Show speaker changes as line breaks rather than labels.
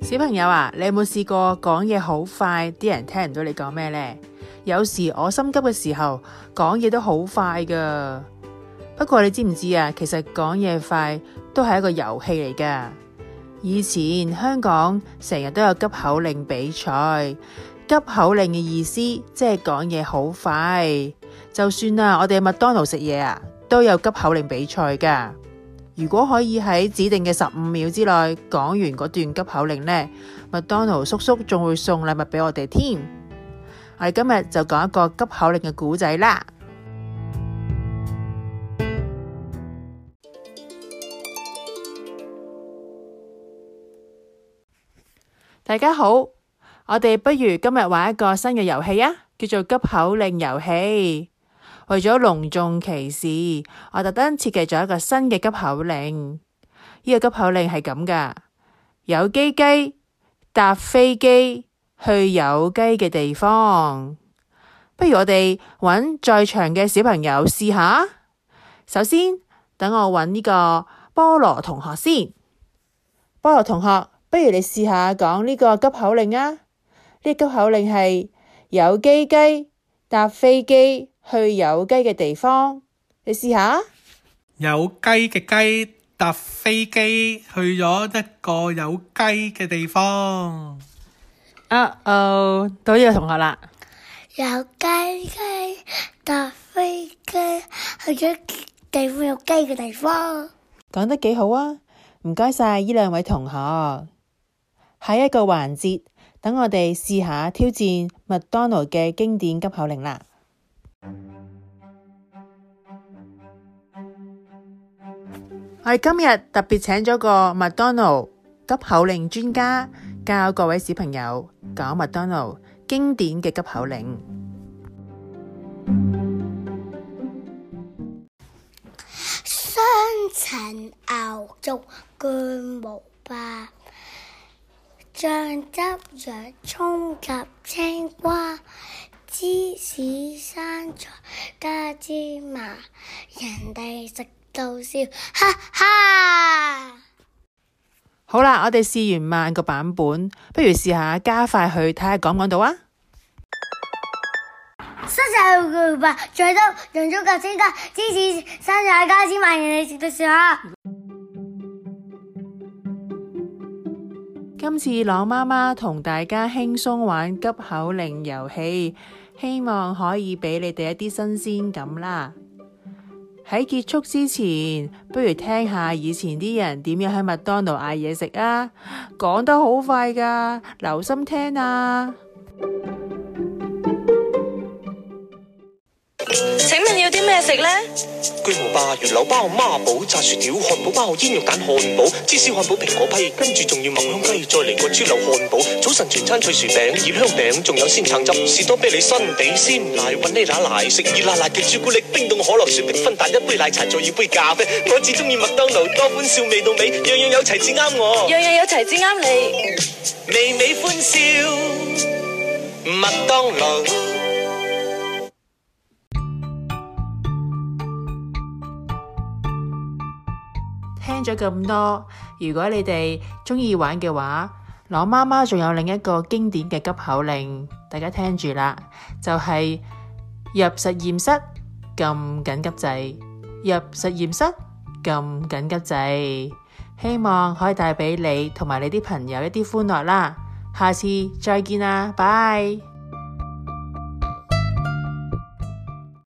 小朋友啊，你有冇試過講嘢好快，啲人聽唔到你講咩呢？有時我心急嘅時候，講嘢都好快噶。不過你知唔知啊？其實講嘢快都係一個遊戲嚟噶。以前香港成日都有急口令比賽，急口令嘅意思即係講嘢好快。就算我哋麥當勞食嘢都有急口令比賽噶。如果可以喺指定嘅15秒之內講完嗰段急口令呢，麥當勞叔叔仲會送禮物俾我哋添。我哋今日就講一個急口令嘅故仔啦。大家好，我哋不如今日玩一個新嘅遊戲叫做急口令遊戲。為咗隆重其事，我特登設計咗一個新嘅急口令。呢個急口令係咁噶：有雞雞搭飛機去有雞嘅地方。不如我哋揾在場嘅小朋友試下。首先，等我揾呢個菠蘿同學先。菠蘿同學，不如你試下講呢個急口令啊。呢個急口令係有雞雞搭飛機去有雞嘅地方，你試下。
有雞嘅雞搭飛機去咗一個有雞嘅地方。
到呢個同學啦。
有雞雞搭飛機去咗地方有雞嘅地方。
講得幾好啊！唔該晒呢兩位同學。下一個環節，等我哋試下挑戰麥當勞嘅經典急口令啦。我哋今日特別請咗個麥當勞急口令專家，教各位小朋友講麥當勞經典嘅急口令。
雙層牛肉巨無霸，醬汁洋蔥及青瓜，芝士生菜加芝麻，人哋食到笑，哈哈！
好啦，我哋試完慢個版本，不如試下加快去睇下講唔講到啊！
雙層牛肉巨無霸，醬汁洋蔥及青瓜，芝士生菜加芝麻，人哋食到笑哈！
今次朗媽媽同大家輕鬆玩急口令遊戲，希望可以俾你哋一啲新鮮感啦。喺結束之前，不如聽下以前啲人點樣喺麥當勞嗌嘢食啊！講得好快噶，留心聽啊！
請問要啲咩食呢？
巨無霸、魚柳包、孖寶、炸薯條、漢堡包、煙肉蛋漢堡、芝士漢堡、蘋果批，跟住仲要麥香雞，再嚟個豬柳漢堡。早晨全餐脆薯餅、葉香餅，仲有鮮橙汁、士多啤梨、新地鮮奶、雲呢拿奶，食熱辣辣嘅朱古力、冰凍可樂、雪碧、芬達，一杯奶茶，再要杯咖啡。我只中意麥當勞，多歡笑味到尾，樣樣有齊至啱我，
樣樣有齊至啱你，
微微歡笑，麥當勞。
聽咗咁多，如果你哋中意玩嘅話，朗媽媽仲有另一個經典嘅急口令，大家聽住啦，就係入實驗室撳緊急掣，入實驗室撳緊急掣，希望可以帶俾你同埋你啲朋友一啲歡樂啦。下次再見啦，拜。